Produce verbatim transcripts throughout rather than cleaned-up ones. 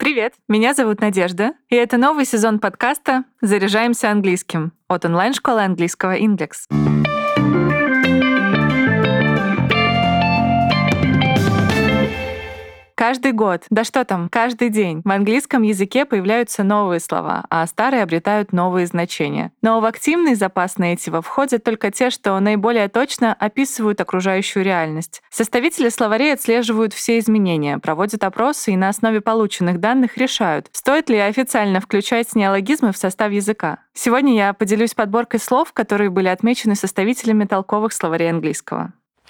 Привет, меня зовут Надежда, и это новый сезон подкаста «Заряжаемся английским» от онлайн-школы английского «Индекс». Каждый год, да что там, каждый день в английском языке появляются новые слова, а старые обретают новые значения. Но в активный запас нейтива входят только те, что наиболее точно описывают окружающую реальность. Составители словарей отслеживают все изменения, проводят опросы и на основе полученных данных решают, стоит ли официально включать неологизмы в состав языка. Сегодня я поделюсь подборкой слов, которые были отмечены составителями толковых словарей английского.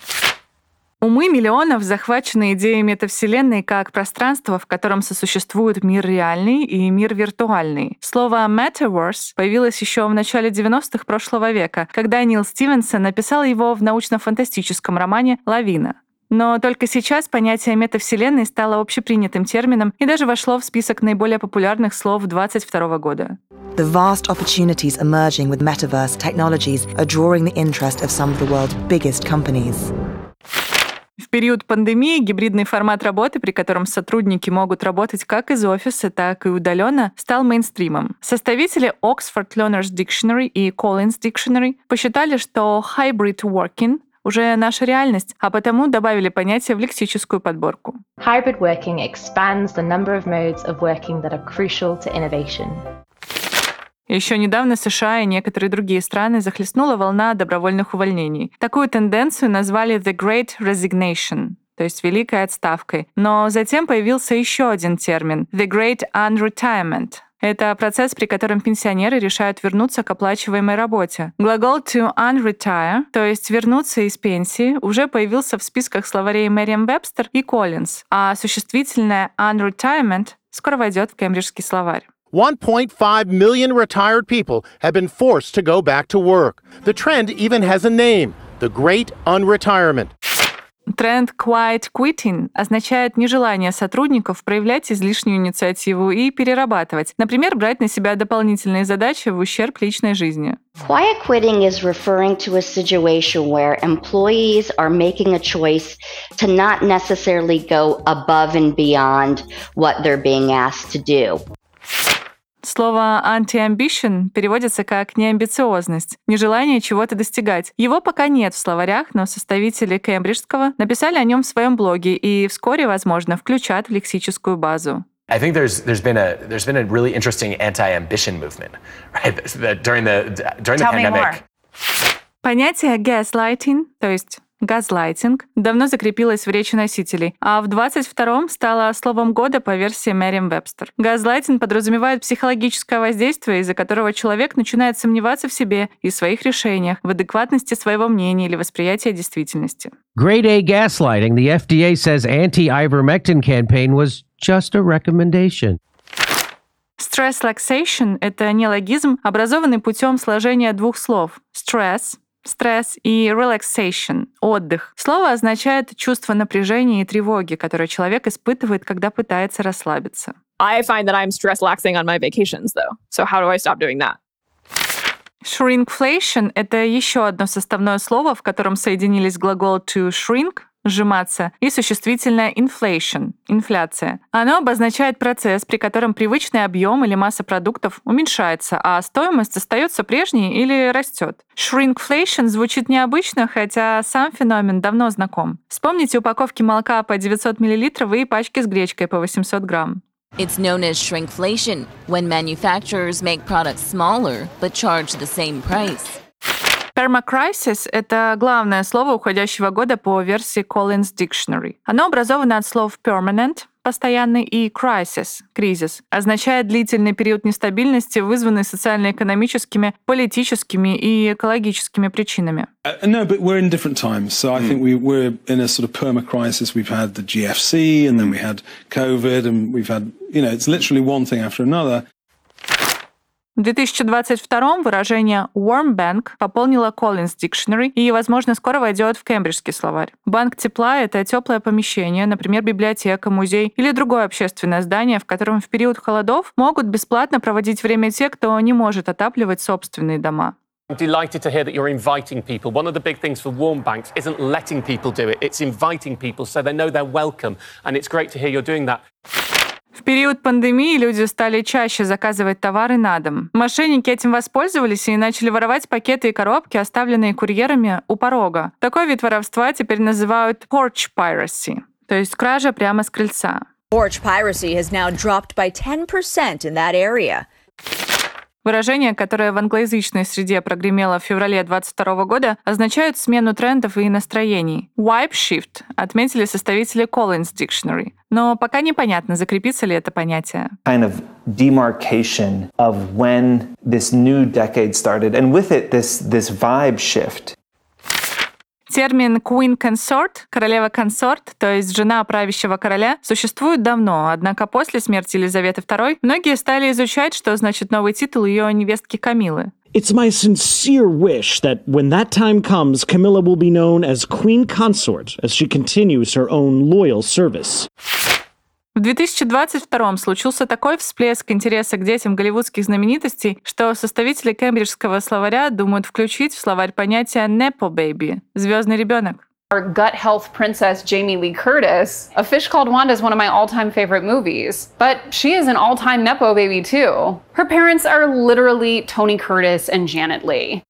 Умы миллионов захвачены идеей метавселенной как пространство, в котором сосуществуют мир реальный и мир виртуальный. Слово «metaverse» появилось еще в начале девяностых прошлого века, когда Нил Стивенсон написал его в научно-фантастическом романе «Лавина». Но только сейчас понятие метавселенной стало общепринятым термином и даже вошло в список наиболее популярных слов двадцать второго года. The vast opportunities emerging with metaverse technologies are drawing the interest of some of the world's biggest companies. В период пандемии гибридный формат работы, при котором сотрудники могут работать как из офиса, так и удаленно, стал мейнстримом. Составители Oxford Learners Dictionary и Collins Dictionary посчитали, что hybrid working уже наша реальность, а потому добавили понятие в лексическую подборку. Hybrid working expands the number of modes of working that are crucial to innovation. Еще недавно США и некоторые другие страны захлестнула волна добровольных увольнений. Такую тенденцию назвали «the great resignation», то есть «великой отставкой». Но затем появился еще один термин «the great unretirement». Это процесс, при котором пенсионеры решают вернуться к оплачиваемой работе. Глагол to unretire, то есть вернуться из пенсии, уже появился в списках словарей Merriam-Webster и Collins, а существительное unretirement скоро войдет в кембриджский словарь. one point five million retired people have been forced to go back to work. The trend even has a name, the Great Unretirement. Тренд quiet quitting означает нежелание сотрудников проявлять излишнюю инициативу и перерабатывать, например, брать на себя дополнительные задачи в ущерб личной жизни. Quiet quitting is referring to a situation where employees are making a choice to not necessarily go above and beyond what they're being asked to do. Слово anti-ambition переводится как неамбициозность, нежелание чего-то достигать. Его пока нет в словарях, но составители кембриджского написали о нем в своем блоге и вскоре, возможно, включат в лексическую базу. I think there's there's been a there's been a really interesting anti-ambition movement, right? During the during the pandemic. Понятие gaslighting, то есть газлайтинг, давно закрепилось в речи носителей, а в двадцать втором стало словом года по версии Merriam-Webster. Газлайтинг подразумевает психологическое воздействие, из-за которого человек начинает сомневаться в себе и своих решениях, в адекватности своего мнения или восприятия действительности. Grade A gaslighting, the F D A says anti-ivermectin campaign was just a recommendation. Stress relaxation — это неологизм, образованный путем сложения двух слов stress — стресс и relaxation — отдых. Слово означает чувство напряжения и тревоги, которое человек испытывает, когда пытается расслабиться. I find that I'm stress-laxing on my vacations, though. So how do I stop doing that? Shrinkflation — это еще одно составное слово, в котором соединились глагол to shrink — сжиматься, и существительное inflation — инфляция. Оно обозначает процесс, при котором привычный объем или масса продуктов уменьшается, а стоимость остается прежней или растет. Shrinkflation звучит необычно, хотя сам феномен давно знаком. Вспомните упаковки молока по девятьсот миллилитров и пачки с гречкой по восемьсот грамм. It's known as shrinkflation, when manufacturers make products smaller but charge the same price. Permacrisis — это главное слово уходящего года по версии Collins Dictionary. Оно образовано от слов permanent — постоянный, и crisis — кризис. Означает длительный период нестабильности, вызванный социально-экономическими, политическими и экологическими причинами. Uh, no, but we're in different times. So I think we, we're in a sort of perma-crisis. We've had the G F C, and then we had COVID, and we've had, you know, it's literally one thing after another. В две тысячи двадцать втором выражение warm bank пополнило Collins Dictionary и, возможно, скоро войдет в кембриджский словарь. Банк тепла — это теплое помещение, например, библиотека, музей или другое общественное здание, в котором в период холодов могут бесплатно проводить время те, кто не может отапливать собственные дома. I'm delighted to hear that you're inviting people. One of the big things for warm banks isn't letting people do it, it's inviting people so they know they're welcome. And it's great to hear you're doing that. В период пандемии люди стали чаще заказывать товары на дом. Мошенники этим воспользовались и начали воровать пакеты и коробки, оставленные курьерами у порога. Такой вид воровства теперь называют porch piracy, то есть кража прямо с крыльца. Porch piracy has now dropped by ten percent in that area. Выражение, которое в англоязычной среде прогремело в феврале двадцать второго года, означают смену трендов и настроений. Vibe shift отметили составители Collins Dictionary. Но пока непонятно, закрепится ли это понятие. Kind of demarcation of when this new decade started, and with it this this vibe shift. Термин Queen Consort, королева-консорт, то есть жена правящего короля, существует давно, однако после смерти Елизаветы второй многие стали изучать, что значит новый титул ее невестки Камилы. It's my sincere wish that when that time comes, Camilla will be known as Queen Consort, as she continues her own loyal service. В две тысячи двадцать втором случился такой всплеск интереса к детям голливудских знаменитостей, что составители кембриджского словаря думают включить в словарь понятие «nepo baby» — «звездный ребенок». Our gut health princess Jamie Lee Curtis. A Fish Called Wanda is one of my all-time favorite movies, but she is an all-time nepo baby too. Her parents are literally Tony Curtis and Janet Leigh.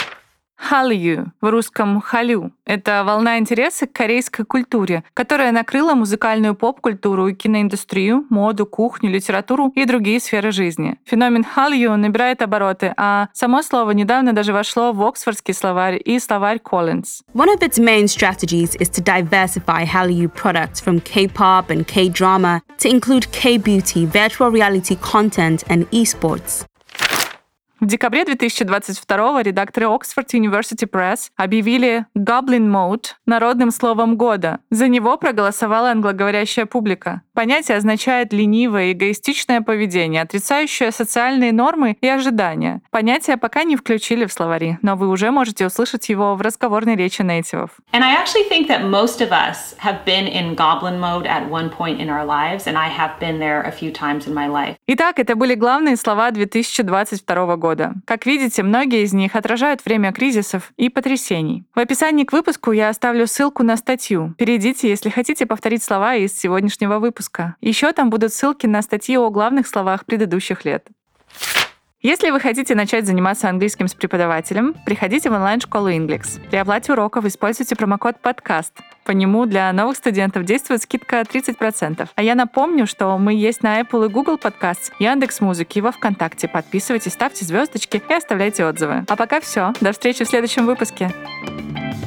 Hallyu, в русском «халю» — это волна интереса к корейской культуре, которая накрыла музыкальную поп-культуру и киноиндустрию, моду, кухню, литературу и другие сферы жизни. Феномен Hallyu набирает обороты, а само слово недавно даже вошло в Оксфордский словарь и словарь Collins. One of its main strategies is to diversify Hallyu products from K-pop and K-drama to include K-beauty, virtual reality content and esports. В декабре две тысячи двадцать второго редакторы Oxford University Press объявили Goblin Mode народным словом года. За него проголосовала англоговорящая публика. Понятие означает ленивое, эгоистичное поведение, отрицающее социальные нормы и ожидания. Понятие пока не включили в словари, но вы уже можете услышать его в разговорной речи нейтивов. And I actually think that most of us have been in goblin mode at one point in our lives, and I have been there a few times in my life. Итак, это были главные слова две тысячи двадцать второго года. Как видите, многие из них отражают время кризисов и потрясений. В описании к выпуску я оставлю ссылку на статью. Перейдите, если хотите повторить слова из сегодняшнего выпуска. Еще там будут ссылки на статьи о главных словах предыдущих лет. Если вы хотите начать заниматься английским с преподавателем, приходите в онлайн-школу Inglix. При оплате уроков используйте промокод подкаст. По нему для новых студентов действует скидка тридцать процентов. А я напомню, что мы есть на Apple и Google Podcasts, Яндекс.Музыке и во ВКонтакте. Подписывайтесь, ставьте звездочки и оставляйте отзывы. А пока все. До встречи в следующем выпуске.